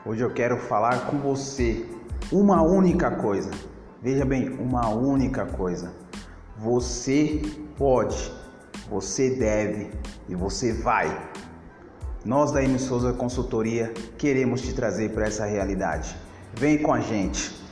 Hoje eu quero falar com você uma única coisa. Veja bem, uma única coisa. Você pode, você deve e você vai. Nós da M. Souza Consultoria queremos te trazer para essa realidade. Vem com a gente.